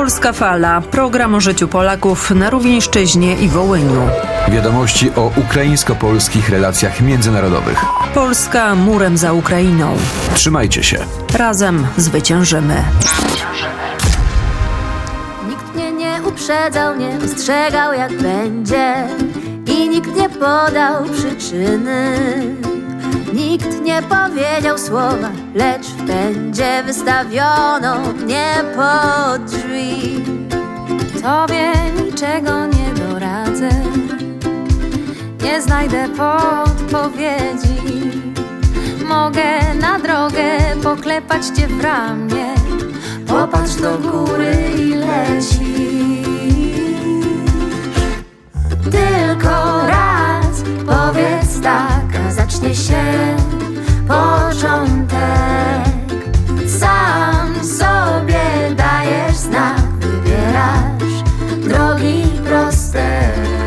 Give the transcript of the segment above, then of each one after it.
Polska Fala. Program o życiu Polaków na Rówieńszczyźnie i Wołyniu. Wiadomości o ukraińsko-polskich relacjach międzynarodowych. Polska murem za Ukrainą. Trzymajcie się. Razem zwyciężymy. Nikt mnie nie uprzedzał, nie ostrzegał jak będzie i nikt nie podał przyczyny. Nikt nie powiedział słowa, lecz w pędzie wystawiono mnie pod drzwi. Tobie niczego nie doradzę, nie znajdę podpowiedzi. Mogę na drogę poklepać cię w ramię, popatrz do góry i lecisz. Tylko raz powiedz tak, a zacznie się początek. Sam sobie dajesz znak, wybierasz drogi proste.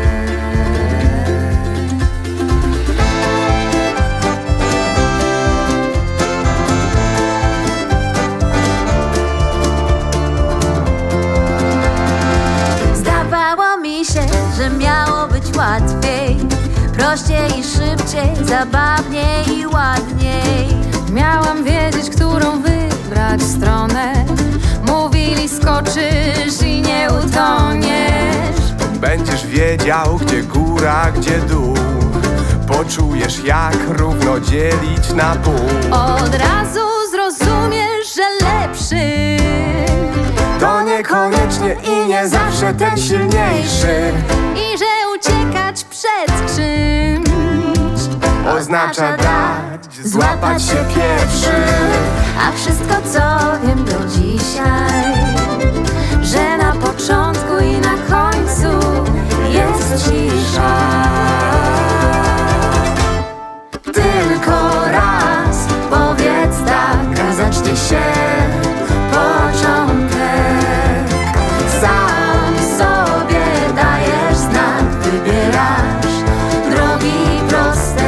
Zdawało mi się, że miało być łatwiej, prościej i szybciej, zabawniej i ładniej. Miałam wiedzieć, którą wybrać stronę. Mówili, skoczysz i nie utoniesz. Będziesz wiedział, gdzie góra, gdzie dół. Poczujesz, jak równo dzielić na pół. Od razu zrozumiesz, że lepszy To niekoniecznie i nie zawsze ten silniejszy. i że uciekać przed czymś Oznacza dać, złapać się pierwszy. A wszystko, co wiem do dzisiaj, że na początku i na końcu jest cisza. Tylko raz powiedz tak, a zacznie się początek. Sam sobie dajesz znak, wybierasz drogi proste.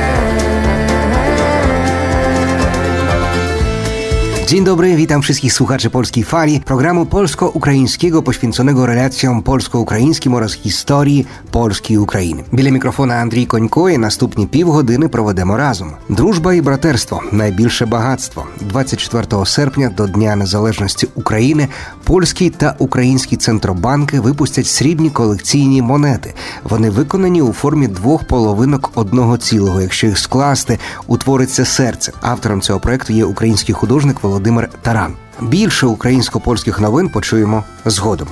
Dzień dobry, witam wszystkich słuchaczy Polskiej Fali, programu polsko-ukraińskiego poświęconego relacjom polsko-українським oraz historii Polski i Ukrainy. Біля мікрофона Андрій Конько і наступні півгодини проведемо разом. Дружба і братерство – найбільше багатство. 24 серпня до Дня Незалежності України польський та український центробанки випустять срібні колекційні монети. Вони виконані у формі двох половинок одного цілого. Якщо їх скласти, утвориться серце. Автором цього проекту є український художник Володимир Таран. Більше українсько-польських новин почуємо згодом.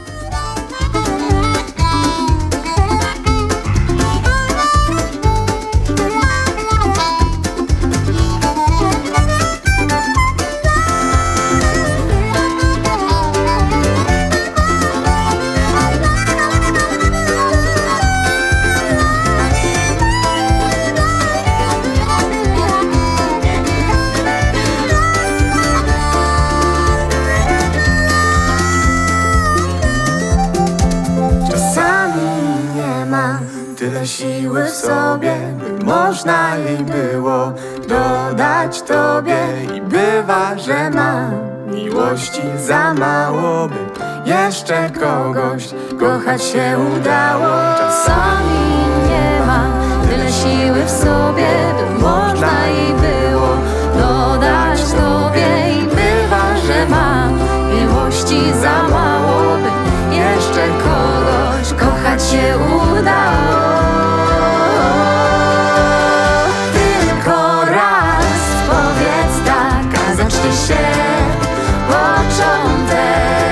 Tyle siły w sobie, by można jej było dodać tobie. I bywa, że mam miłości za mało, by jeszcze kogoś kochać się udało. Czasami nie mam tyle siły w sobie, by można jej było dodać tobie. I bywa, że mam miłości za mało, by jeszcze kogoś kochać się udało. Tylko raz powiedz tak, a zacznie się początek.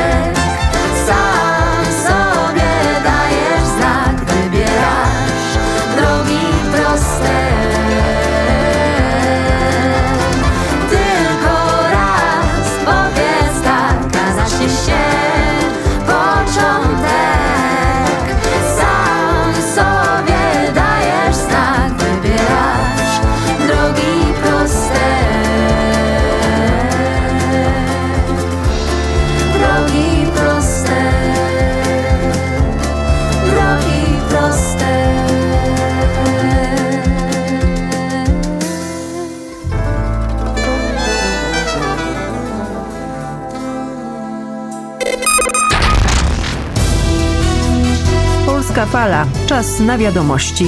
Sam sobie dajesz znak, wybierasz drogi proste. Polska Fala. Czas na wiadomości.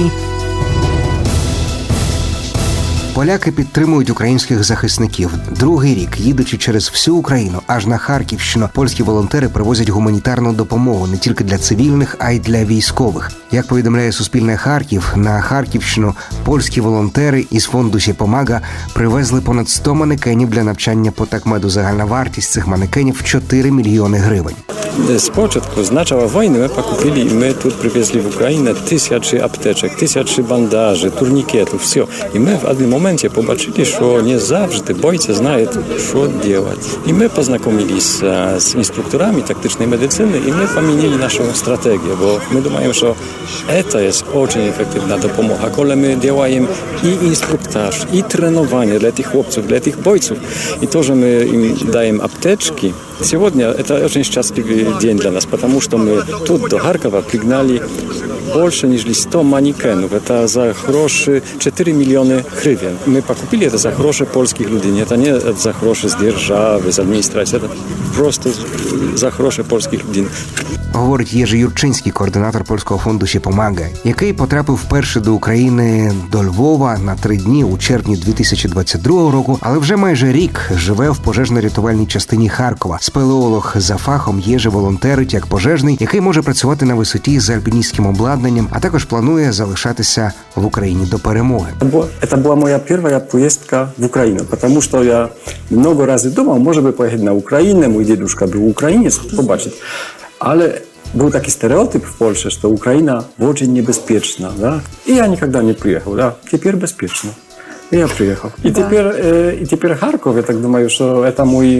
Поляки підтримують українських захисників. Другий рік, їдучи через всю Україну, аж на Харківщину, польські волонтери привозять гуманітарну допомогу не тільки для цивільних, а й для військових. Як повідомляє Суспільне Харків, на Харківщину польські волонтери із фонду «Сєпомага» привезли понад 100 манекенів для навчання по такмеду. Загальна вартість цих манекенів – 4 мільйони гривень. Z początku, z начала wojny my покупили, и мы тут привезли в Украину 1000 аптечек, 1000 bandaży, turnikietów, все. И мы в одном моменте побачили, что не завжди бойцы знают, что делать. И мы познакомились с инструкторами тактичной медицины, и мы поменяли нашу стратегию, bo мы думаем, что это есть очень эффективная допомога. Когда мы делаем и инструктаж, и тренирование для этих хлопцев, для этих бойцов, и тоже мы им даем аптечки. Сегодня это очень счастливый день для нас, потому что мы тут до Харькова пригнали больше, неж 100 манекенов. Это за гроши 4 миллиона гривен. Мы покупили это за гроши польских людей. Это не за гроши с державы, с администрации. Это просто за гроши польских людей. Говорить Єжи Юрчинський, координатор польського фонду «Сєпомага», який потрапив вперше до України, до Львова на 3 дні у червні 2022 року, але вже майже рік живе в пожежно-рятувальній частині Харкова. Спелеолог за фахом Єжи волонтерить як пожежний, який може працювати на висоті з альпіністським обладнанням, а також планує залишатися в Україні до перемоги. Это была моя первая поездка в Украину, потому что я много раз думал, может быть, поехать на Украину, мой дедушка был украинец, побачить. Ale był taki stereotyp w Polsce, że Ukraina очень niebezpieczna, да? I ja никогда не приехал, да? Теперь безопасно. И я приехал. И теперь Харьков, я так думаю, что это мой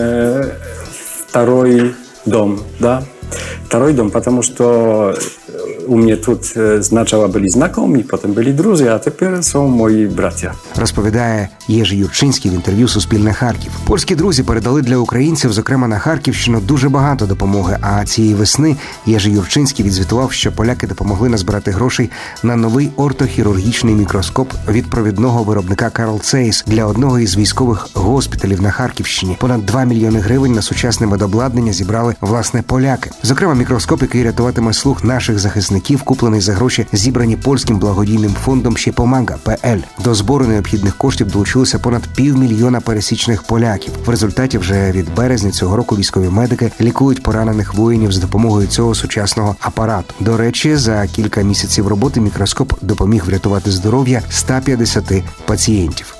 второй дом, да? Второй дом, потому что у mnie тут спочатку були знайомі, потім були друзі, а тепер są мої браття. Розповідає Єжи Юрчинський в інтерв'ю «Суспільне Харків». Польські друзі передали для українців, зокрема на Харківщину, дуже багато допомоги. А цієї весни Єжи Юрчинський відзвітував, що поляки допомогли назбирати грошей на новий ортохірургічний мікроскоп від провідного виробника Карл Zeiss для одного із військових госпіталів на Харківщині. Понад 2 мільйони гривень на сучасне медобладнання зібрали, власне, поляки. Зокрема, мікроскоп, який рятуватиме слух наших захисників, куплений за гроші, зібрані польським благодійним фондом «Сєпомага.пл». До збору необхідних коштів долучилося понад 500 000 пересічних поляків. В результаті вже від березня цього року військові медики лікують поранених воїнів з допомогою цього сучасного апарату. До речі, за кілька місяців роботи мікроскоп допоміг врятувати здоров'я 150 пацієнтів.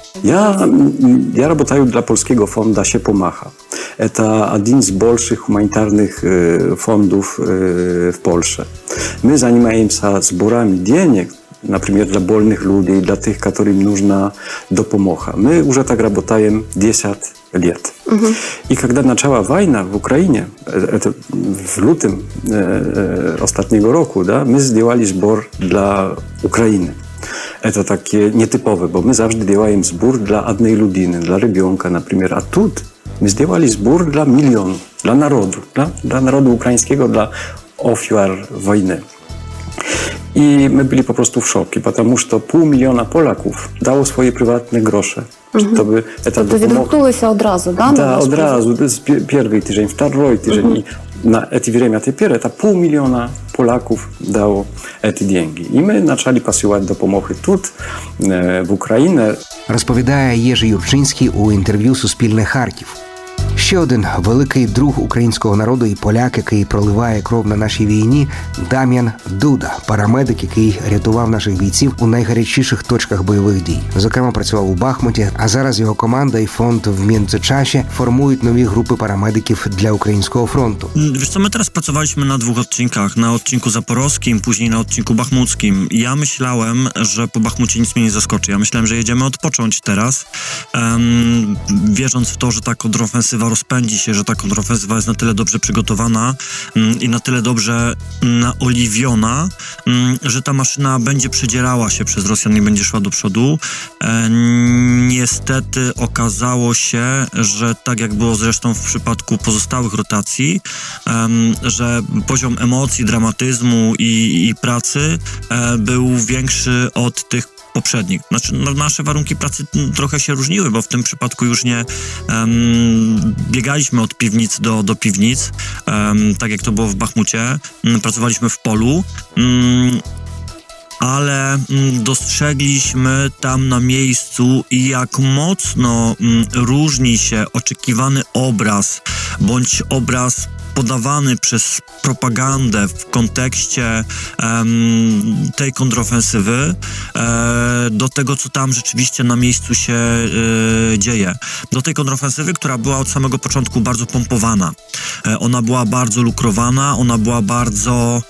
Ja работаю dla polskiego fonda «Сєпомага». Это один из больших гуманитарных фондов в Польше. Мы занимаемся сборами денег, например, для больных людей, для тех, которым нужна допомога. Мы уже так работаем 10 лет. И когда начала война в Украине, это в лютym ostatniego roku, да, мы сделали сбор для Украины. Это takie nietypowe, bo my zawsze делаем сбор dla одной людины, для ребенка, например. А тут мы сделали сбор для миллионов, для народу, для народа украинского, для ofiar wojny. I my byli po prostu w szoku, потому что 500 000 Polaków dało swoje prywatne grosze. Żeby To відгукнулися одразу, да? Да, одразу. Первый tydzień, второй tydzień. I na это время теперь это 500 000 Polaków dało эти деньги. I my zaczęli посылать допомоги тут, в Україні. Розповідає Єжи Юрчинський у інтерв'ю «Суспільне Харків». Ще один великий друг українського народу і поляк, який проливає кров на нашій війні – Дам'ян Дуда, парамедик, який рятував наших бійців у найгарячіших точках бойових дій. Зокрема, працював у Бахмуті, а зараз його команда і фонд в Międzyczasie формують нові групи парамедиків для українського фронту. Wiesz co, my teraz pracowaliśmy na 2 odcinkach. Na odcinku zaporowskim, później na odcinku bachmuckim. Ja myślałem, że po Bachmucie nic mnie nie zaskoczy. Ja myślałem, że jedziemy odpocząć teraz, wierząc w to, że ta kontrofensywa rozpędzi się, że ta kontrofensywa jest na tyle dobrze przygotowana i na tyle dobrze naoliwiona, że ta maszyna będzie przedzierała się przez Rosjan i będzie szła do przodu. Niestety okazało się, że tak jak było zresztą w przypadku pozostałych rotacji, że poziom emocji, dramatyzmu i pracy był większy od tych poprzednich. Znaczy, nasze warunki pracy trochę się różniły, bo w tym przypadku już nie biegaliśmy od piwnic do piwnic, tak jak to było w Bachmucie. Pracowaliśmy w polu, ale dostrzegliśmy tam na miejscu, jak mocno różni się oczekiwany obraz, bądź obraz podawany przez propagandę w kontekście tej kontrofensywy do tego, co tam rzeczywiście na miejscu się dzieje. Do tej kontrofensywy, która była od samego początku bardzo pompowana. Ona była bardzo lukrowana, ona była bardzo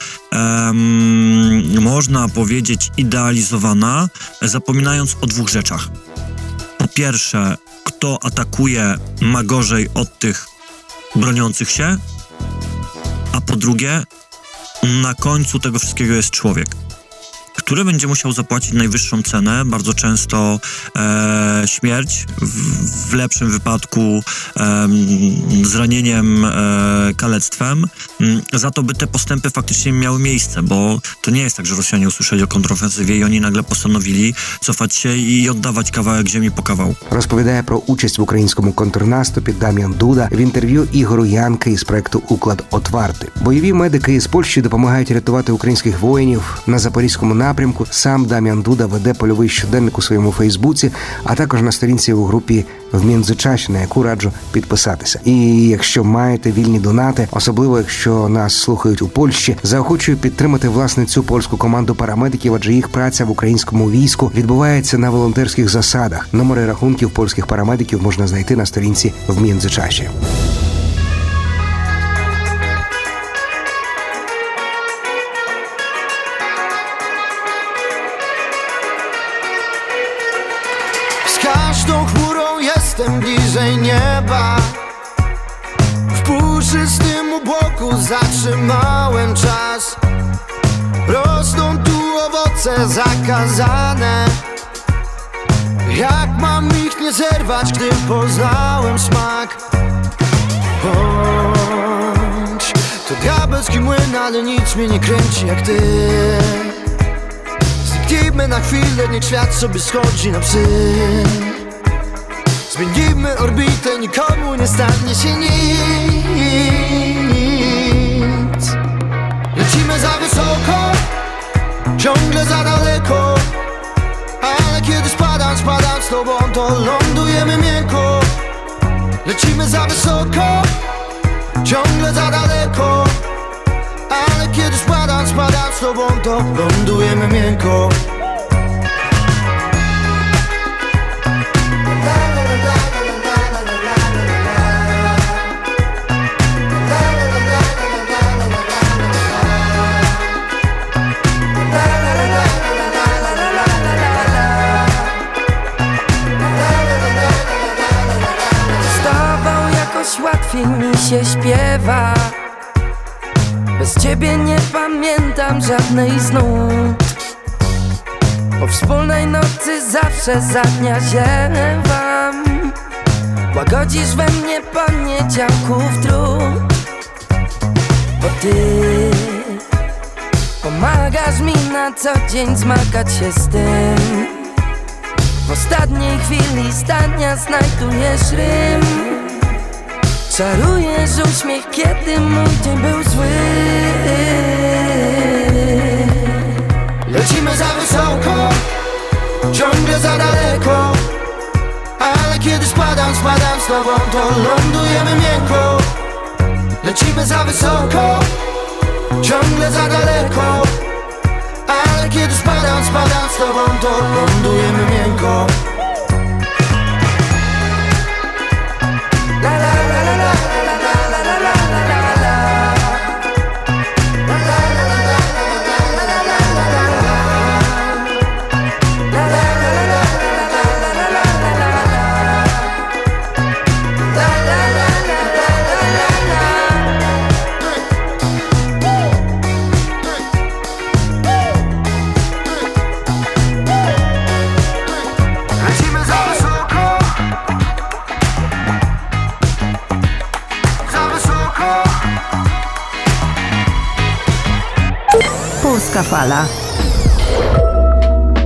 można powiedzieć idealizowana, zapominając o dwóch rzeczach. Po pierwsze, kto atakuje, ma gorzej od tych broniących się, a po drugie, na końcu tego wszystkiego jest człowiek, który będzie musiał zapłacić najwyższą cenę, bardzo często śmierć, w lepszym wypadku zranieniem, kalectwem, za to, by te postępy faktycznie miały miejsce, bo to nie jest tak, że Rosjanie usłyszeli o kontrofensywie i oni nagle postanowili cofać się i oddawać kawałek ziemi po kawałku. Розповідає про участь в українському контрнаступі Дам'ян Дуда в інтерв'ю Ігору Янки із проекту «Уклад Отварти». Бойові медики із Польщі допомагають рятувати українських воїнів на Запорізькому напрямку. Сам Дам'ян Дуда веде польовий щоденник у своєму Фейсбуці, а також на сторінці у групі «В Міндзичаші», на яку раджу підписатися. І якщо маєте вільні донати, особливо якщо нас слухають у Польщі, заохочую підтримати власне цю польську команду парамедиків, адже їх праця в українському війську відбувається на волонтерських засадах. Номери рахунків польських парамедиків можна знайти на сторінці «В Міндзичаші». Z każdą chmurą jestem bliżej nieba. W puszystym obłoku zatrzymałem czas. Rosną tu owoce zakazane. Jak mam ich nie zerwać, gdy poznałem smak? Bądź to diabelski młyn, ale nic mnie nie kręci jak ty. Zniknijmy na chwilę, niech świat sobie schodzi na psy. Zmienimy orbitę, nikomu nie stanie się nic. Lecimy za wysoko, ciągle za daleko. Ale kiedy spadam z tobą, to lądujemy miękko. Lecimy za wysoko, ciągle za daleko. Ale kiedy spadam z tobą, to lądujemy miękko. Łatwiej mi się śpiewa. Bez ciebie nie pamiętam żadnej z nut. Po wspólnej nocy zawsze za dnia ziewam. Łagodzisz we mnie poniedziałków trud. Bo ty pomagasz mi na co dzień zmagać się z tym. W ostatniej chwili zdania znajdujesz rym. Czarujesz uśmiech, kiedy mój dzień był zły. Lecimy za wysoko, ciągle za daleko. Ale kiedy spadam z tobą, to lądujemy miękko. Lecimy za wysoko, ciągle za daleko. Ale kiedy spadam z tobą, to lądujemy miękko. La la la la la. Polska Fala.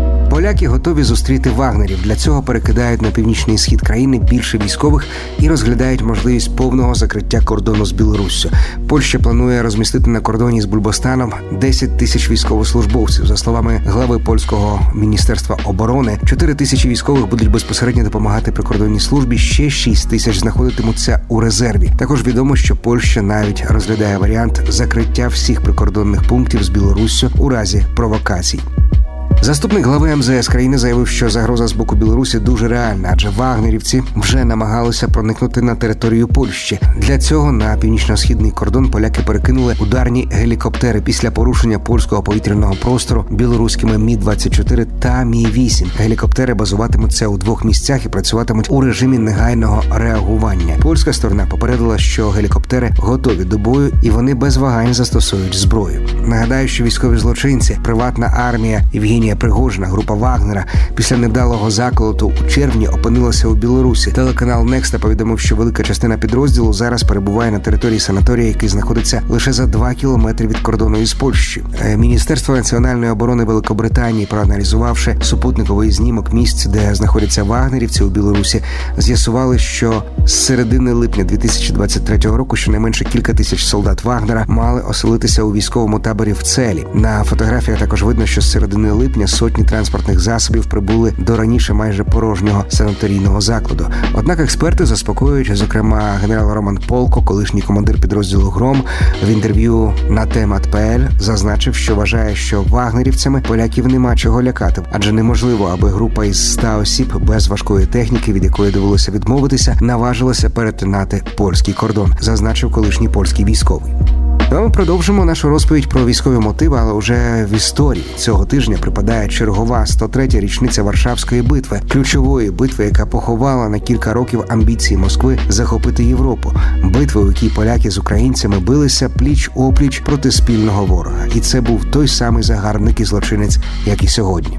Поляки готові зустріти вагнерів. Для цього перекидають на північний схід країни більше військових і розглядають можливість повного закриття кордону з Білоруссю. Польща планує розмістити на кордоні з Бульбостаном 10 тисяч військовослужбовців. За словами глави польського міністерства оборони, 4 тисячі військових будуть безпосередньо допомагати прикордонній службі, ще 6 тисяч знаходитимуться у резерві. Також відомо, що Польща навіть розглядає варіант закриття всіх прикордонних пунктів з Білоруссю у разі провокацій. Заступник глави МЗС країни заявив, що загроза з боку Білорусі дуже реальна, адже вагнерівці вже намагалися проникнути на територію Польщі. Для цього на північно-східний кордон поляки перекинули ударні гелікоптери після порушення польського повітряного простору білоруськими Мі-24 та Мі-8. Гелікоптери базуватимуться у 2 місцях і працюватимуть у режимі негайного реагування. Польська сторона попередила, що гелікоптери готові до бою і вони без вагань застосують зброю. Нагадаю, що військові злочинці, приватна армія Євгенія Пригожина, група Вагнера, після невдалого заколоту у червні опинилася у Білорусі. Телеканал Некста повідомив, що велика частина підрозділу зараз перебуває на території санаторія, який знаходиться лише за 2 кілометри від кордону із Польщею. Міністерство національної оборони Великобританії, проаналізувавши супутниковий знімок місць, де знаходяться вагнерівці у Білорусі, з'ясували, що з середини липня 2023 року щонайменше кілька тисяч солдат Вагнера мали оселитися у військовому таборі в Целі. На фотографіях також видно, що з середини липня сотні транспортних засобів прибули до раніше майже порожнього санаторійного закладу. Однак експерти заспокоюють, зокрема генерал Роман Полко, колишній командир підрозділу «Гром», в інтерв'ю на Темат.ПЛ зазначив, що вважає, що вагнерівцями поляків нема чого лякати, адже неможливо, аби група із 100 осіб без важкої техніки, від якої довелося відмовитися, наважилася перетинати польський кордон, зазначив колишній польський військовий. А ми продовжимо нашу розповідь про військові мотиви, але вже в історії. Цього тижня припадає чергова 103-я річниця Варшавської битви, ключової битви, яка поховала на кілька років амбіції Москви захопити Європу. Битви, у якій поляки з українцями билися пліч-опліч проти спільного ворога. І це був той самий загарбник і злочинець, як і сьогодні.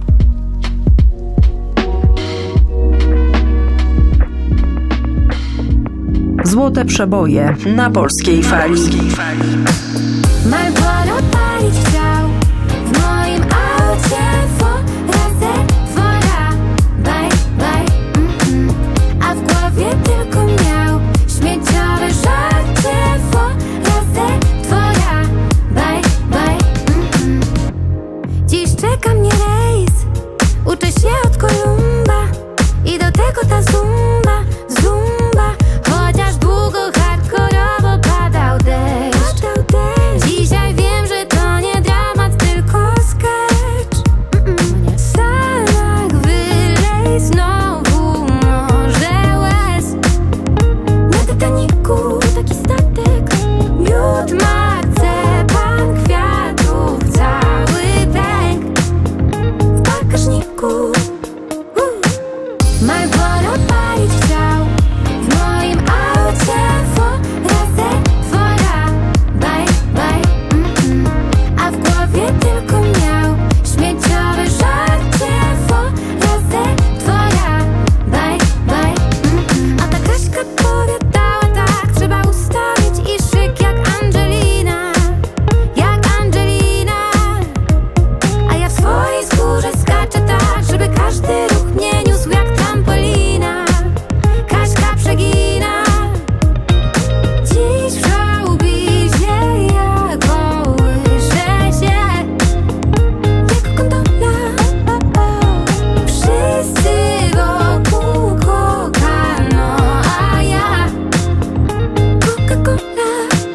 Złote przeboje na Polskiej Fali. Marlboro palić chciał w moim aucie. Razy dwora, baj, baj, a w głowie tylko miał śmieciowe żarcie. Razy dwora, baj, baj, Dziś czeka mnie rejs, uczę się od Kolumba i do tego ta zumba, zumba. Chociaż długo hardkorowo padał deszcz. Dzisiaj wiem, że to nie dramat, tylko sketch. Sanak wylej znowu morze łez. Na Titaniku taki statek, miód, marcepan, kwiatów cały pęk w bagażniku. Marlboro palić chciał w moim aucie. Razy dwora, baj, baj, a w głowie tylko miał śmieciowe żarcie. Razy dwora, baj, baj, a ta Kaśka powiadała tak: trzeba ustawić i szyk jak Angelina, jak Angelina. A ja w swojej skórze skaczę tak, żeby każdy ruch mnie niósł jak trampolina. Kaśka przegina. Dziś w showbizie ja kołyszę się jak gondola. Wszyscy wokół kokano, a ja Coca-Cola.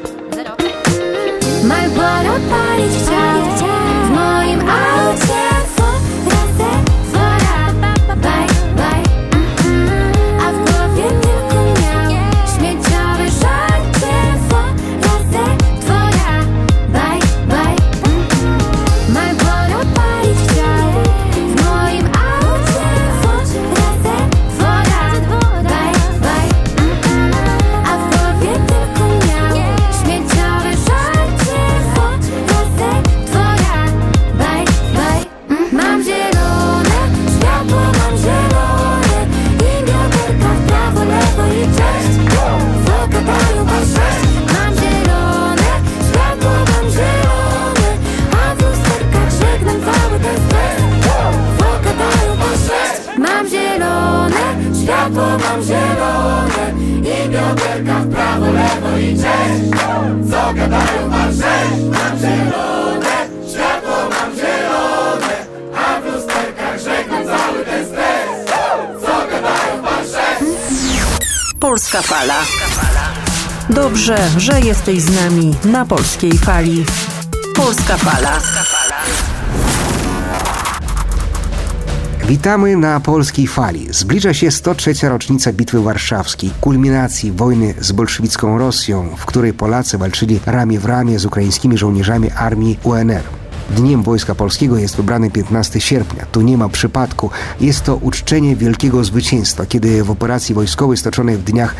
Marlboro palić chciał w moim aucie. Razy dwora, baj, baj, a w głowie tylko miał śmieciowe żarcie. Razy dwora, baj, baj, Marlboro palić chciał w moim aucie. Razy dwora, baj, baj, a w głowie tylko miał śmieciowe żarcie. Razy Polska Fala. Dobrze, że jesteś z nami na Polskiej Fali. Polska Fala. Witamy na Polskiej Fali. Zbliża się 103. rocznica Bitwy Warszawskiej, kulminacji wojny z bolszewicką Rosją, w której Polacy walczyli ramię w ramię z ukraińskimi żołnierzami armii UNR. Dniem Wojska Polskiego jest wybrany 15 sierpnia. Tu nie ma przypadku. Jest to uczczenie wielkiego zwycięstwa, kiedy w operacji wojskowej stoczonej w dniach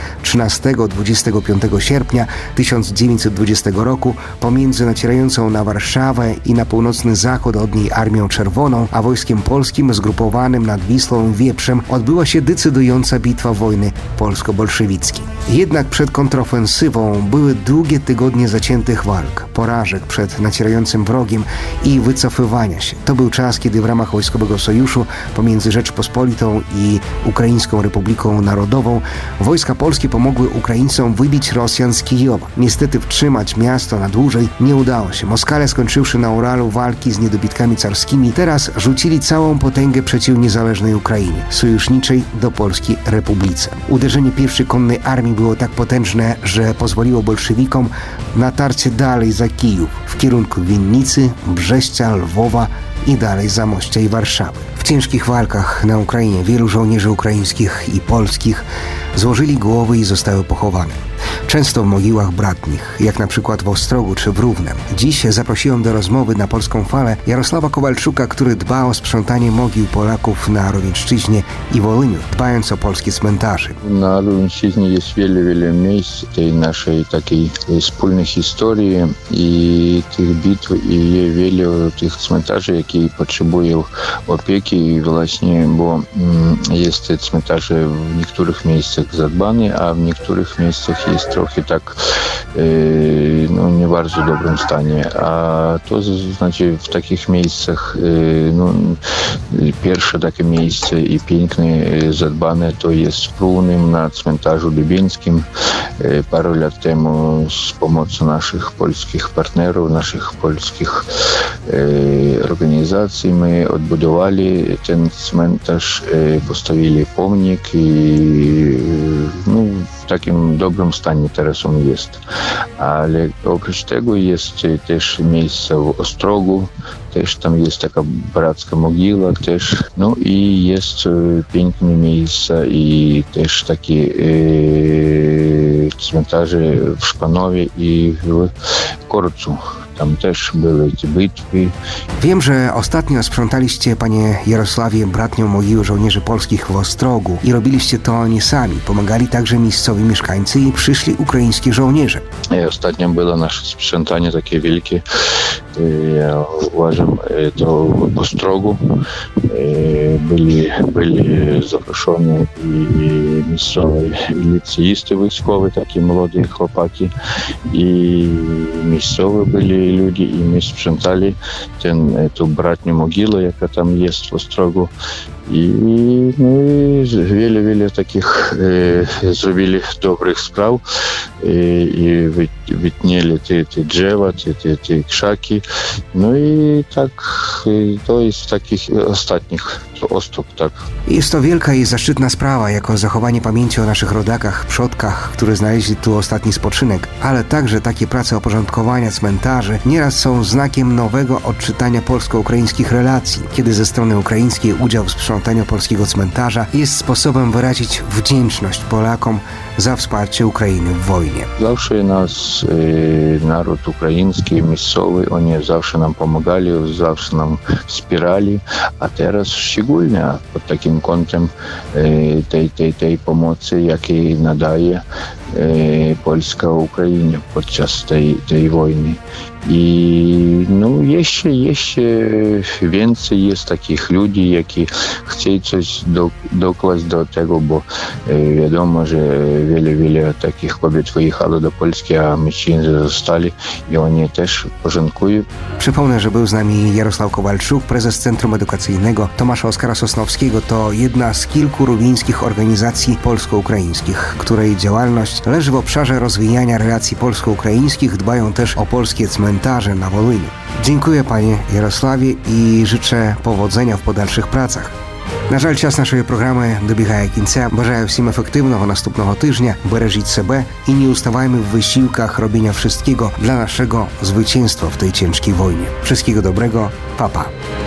13-25 sierpnia 1920 roku pomiędzy nacierającą na Warszawę i na północny zachód od niej Armią Czerwoną, a Wojskiem Polskim zgrupowanym nad Wisłą i Wieprzem odbyła się decydująca bitwa wojny polsko-bolszewickiej. Jednak przed kontrofensywą były długie tygodnie zaciętych walk, porażek przed nacierającym wrogiem i wycofywania się. To był czas, kiedy w ramach wojskowego sojuszu pomiędzy Rzeczpospolitą i Ukraińską Republiką Narodową wojska polskie pomogły Ukraińcom wybić Rosjan z Kijowa. Niestety wtrzymać miasto na dłużej nie udało się. Moskale, skończywszy na Uralu walki z niedobitkami carskimi, teraz rzucili całą potęgę przeciw niezależnej Ukrainie, sojuszniczej do Polskiej Republice. Uderzenie pierwszej konnej armii było tak potężne, że pozwoliło bolszewikom na tarcie dalej za Kijów, w kierunku Winnicy, Brześcia, Lwowa i dalej Zamościa i Warszawy. W ciężkich walkach na Ukrainie wielu żołnierzy ukraińskich i polskich złożyli głowy i zostały pochowane. Często w mogiłach bratnich, jak na przykład w Ostrogu czy w Równem. Dziś zaprosiłem do rozmowy na Polską Falę Jarosława Kowalczuka, który dba o sprzątanie mogił Polaków na Rówieńszczyźnie i Wołyniu, dbając o polskie cmentarze. Na Rówieńszczyźnie jest wiele miejsc tej naszej takiej wspólnej historii i tych bitw i wiele tych cmentarzy, jakie potrzebują opieki i właśnie, bo jest te cmentarze w niektórych miejscach zadbane, a w niektórych miejscach jest trochę tak nie w bardzo dobrym stanie, a to znaczy w takich miejscach pierwsze takie miejsce i piękne, zadbane to jest w Równym na cmentarzu lubieńskim. Parę lat temu z pomocą naszych polskich partnerów, naszych polskich organizacji my odbudowali ten cmentarz, postawili pomnik i w takim dobrym stanie teraz on jest. Ale oprócz tego jest też miejsce w Ostrogu, też tam jest taka bracka mogiła też, i jest piękne miejsca i też takie cmentarze w Szpanowie i w Korcu. Tam też były te bitwy. Wiem, że ostatnio sprzątaliście, panie Jarosławie, bratnią mogiły żołnierzy polskich w Ostrogu i robiliście to nie sami. Pomagali także miejscowi mieszkańcy i przyszli ukraińskie żołnierze. Ostatnio było nasze sprzątanie takie wielkie. Ja uważam, to w Ostrogu byli zaproszeni i miejscowi liceisty wojskowi, takie młode chłopaki i miejscowi byli ludzie i my sprzątali tą bratnią mogilę, jaka tam jest w Ostrogu. I wiele takich zrobili dobrych spraw i wytnieli te drzewa, te krzaki. I tak to jest takich ostatnich Ostrog, tak. Jest to wielka i zaszczytna sprawa, jako zachowanie pamięci o naszych rodakach, przodkach, którzy znaleźli tu ostatni spoczynek, ale także takie prace oporządkowania cmentarzy nieraz są znakiem nowego odczytania polsko-ukraińskich relacji, kiedy ze strony ukraińskiej udział w sprzątaniu polskiego cmentarza jest sposobem wyrazić wdzięczność Polakom za wsparcie Ukrainy w wojnie. Zawsze nas naród ukraiński, miejscowy, oni zawsze nam pomagali, zawsze nam wspierali, a teraz szczególnie pod takim kątem tej pomocy, jakiej nadaje Polska Ukrainie podczas tej wojny. I no, jeszcze więcej jest takich ludzi, які chcą coś dokładać do tego, bo wiadomo, że wiele takich kobiet wyjechało do Polski, a mężczyźni zostali i oni też porządkują. Przypomnę, że był z nami Jarosław Kowalczuk, prezes Centrum Edukacyjnego Tomasza Oskara Sosnowskiego. To jedna z kilku lubińskich organizacji polsko-ukraińskich, której działalność leży w obszarze rozwijania relacji polsko-ukraińskich. Dbają też o polskie cmentarze na Волині. Dziękuję panie Jarosławie i życzę powodzenia w подальших pracach. На жаль, час нашої програми добігає кінця. Бажаю всім ефективного наступного тижня. Бережіть себе і не уставajmy w wysiłkach robienia wszystkiego dla naszego zwycięstwa w tej ciężkiej wojnie. Wszystkiego dobrego. Pa, pa.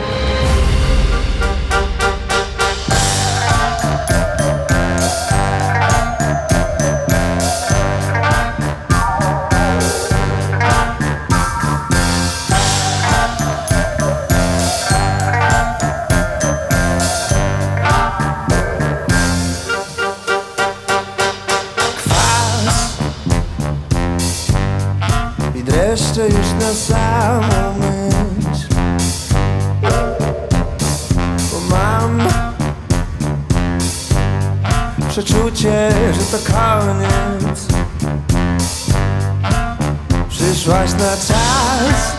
Dreszcze już na samą myśl, bo mam przeczucie, że to koniec. Przyszłaś na czas,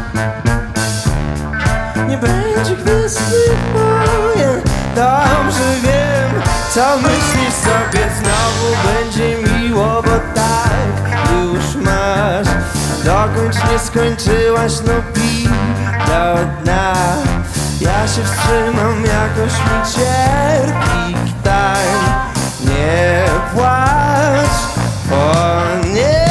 nie będzie gwiezdnych wojen. Dobrze wiem, co myślisz sobie, znowu będzie miło, bo tak już masz. Dokończ, nie skończyłaś, no pij do dna. Ja się wstrzymam, jakoś mi cierpi. Daj, nie płacz, o nie.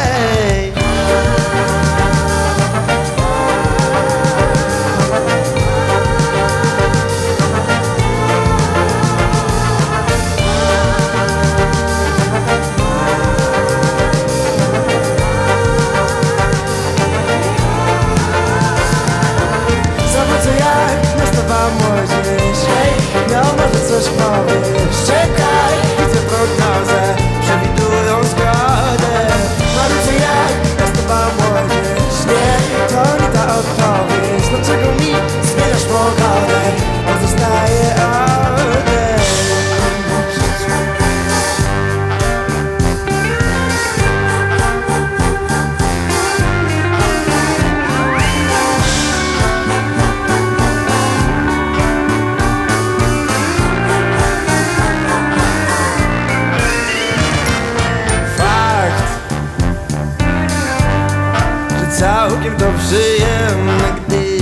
No może coś powiesz, czekaj, widzę prognozę, przewidują zgodę. Marudzę jak nastawa młodzież, nie, to nie ta odpowiedź. Dlaczego mi zmieniasz pogodę, pozostaje odejść. Całkiem to przyjemne, gdy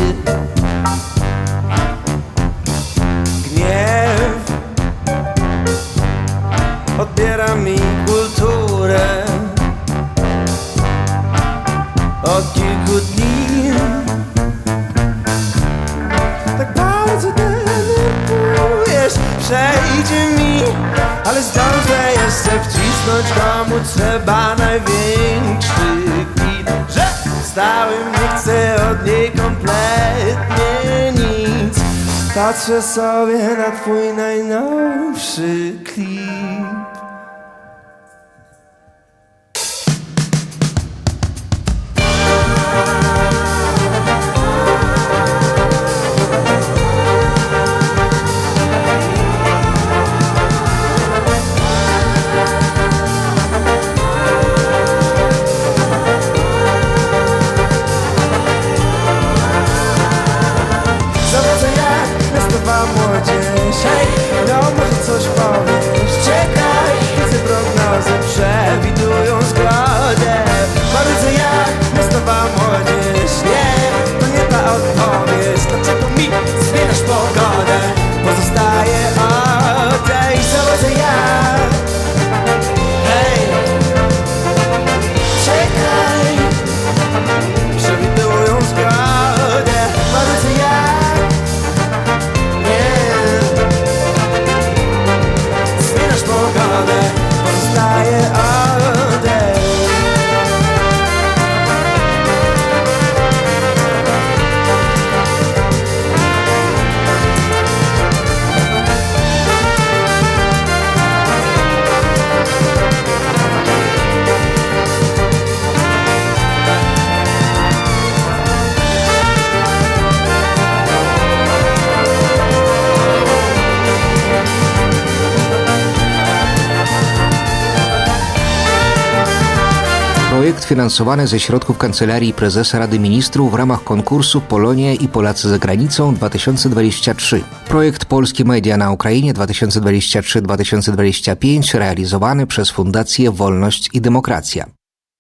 gniew odbiera mi kulturę. Od kilku dni tak bardzo denerwujesz. Przejdzie mi, ale zdążę jeszcze wcisnąć, komu trzeba największy kwit. Że stałem, nie chcę od niej kompletnie nic. Patrzę sobie na twój najnowszy klip. Młodzież, hej, no może coś powiesz, czekaj. projekt finansowany ze środków Kancelarii Prezesa Rady Ministrów w ramach konkursu Polonia i Polacy za granicą 2023. Projekt Polskie Media na Ukrainie 2023-2025 realizowany przez Fundację Wolność i Demokracja.